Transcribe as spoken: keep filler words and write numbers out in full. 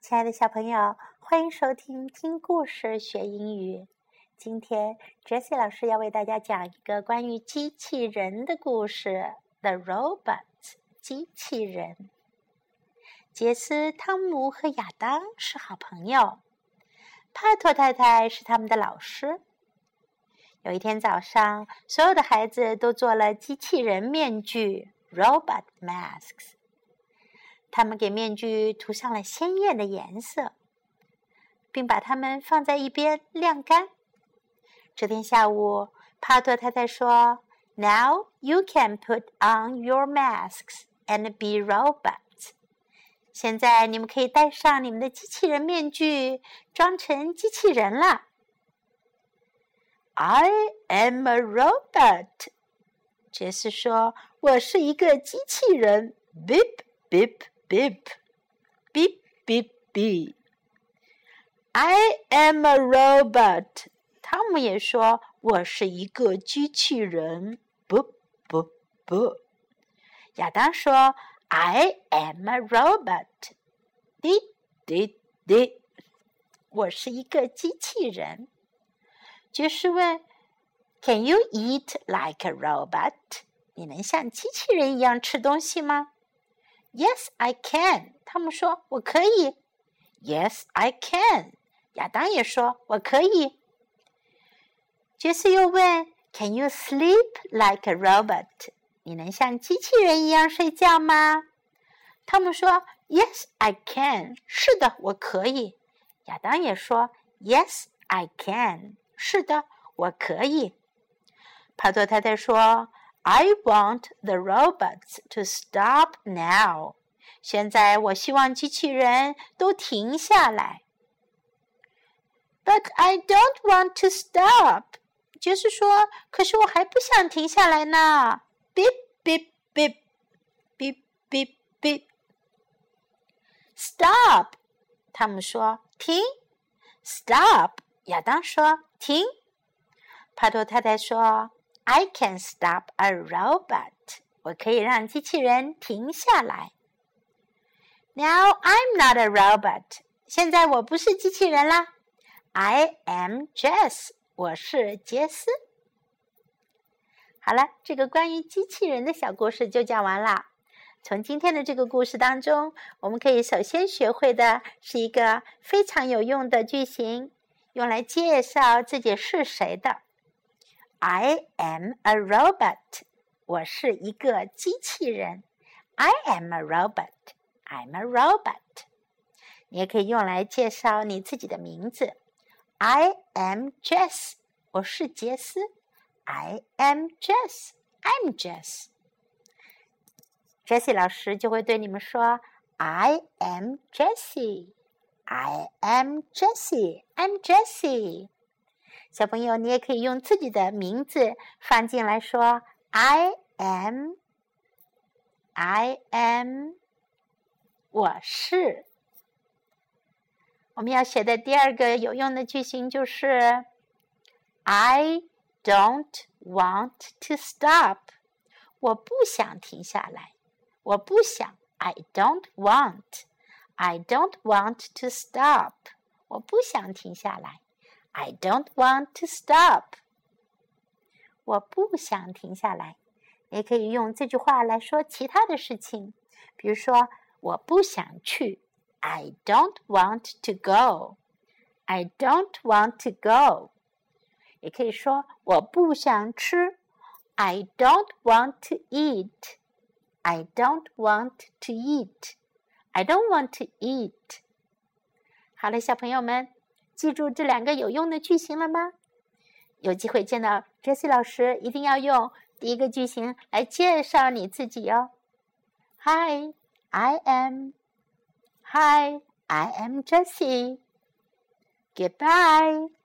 亲爱的小朋友，欢迎收听听故事学英语。今天 Jessie 老师要为大家讲一个关于机器人的故事 The Robot 机器人。杰斯、汤姆和亚当是好朋友，帕托太太是他们的老师。有一天早上，所有的孩子都做了机器人面具 Robot Masks。他们给面具涂上了鲜艳的颜色，并把它们放在一边晾干。这天下午，帕托太太说 Now you can put on your masks and be robots. 现在你们可以戴上你们的机器人面具，装成机器人了。I am a robot. 杰斯说，我是一个机器人。Beep, beep, beep, beep, beep, beep. I am a robot. 汤姆也说，我是一个机器人。不不不。亚当说 I am a robot. 滴滴滴，我是一个机器人。爵士问 Can you eat like a robot? 你能像机器人一样吃东西吗？Yes, I can. 汤姆说，我可以。Yes, I can. 亚当也说，我可以。杰斯又问 Can you sleep like a robot? 你能像机器人一样睡觉吗？汤姆说 Yes, I can. 是的，我可以。亚当也说 Yes, I can. 是的，我可以。帕托太太说I want the robots to stop now. 现在我希望机器人都停下来。But I don't want to stop. 杰斯说，可是我还不想停下来呢。Beep, beep, beep. Beep, beep, beep. Stop. 汤姆说，停。Stop. 亚当说，停。帕托太太说I can stop a robot. 我可以让机器人停下来。Now I'm not a robot. 现在我不是机器人啦。I am Jess. 我是杰斯。好了，这个关于机器人的小故事就讲完了。从今天的这个故事当中，我们可以首先学会的是一个非常有用的句型，用来介绍自己是谁的。I am a robot. 我是一个机器人。I am a robot. I'm a robot. 你也可以用来介绍你自己的名字。I am Jess. 我是杰斯。I am Jess. I'm Jess. Jessie 老师就会对你们说 I am Jessie. I am Jessie. I'm Jessie.小朋友，你也可以用自己的名字放进来说 I am I am 我是。我们要学的第二个有用的句型就是 I don't want to stop. 我不想停下来。我不想 I don't want I don't want to stop. 我不想停下来。I don't want to stop. 我不想停下来。也可以用这句话来说其他的事情，比如说我不想去 I don't want to go. I don't want to go. 也可以说我不想吃 I don't want to eat. I don't want to eat. I don't want to eat. 好了，小朋友们，记住这两个有用的句型了吗？有机会见到 Jessie 老师，一定要用第一个句型来介绍你自己哦。Hi, I am. Hi, I am Jessie. Goodbye.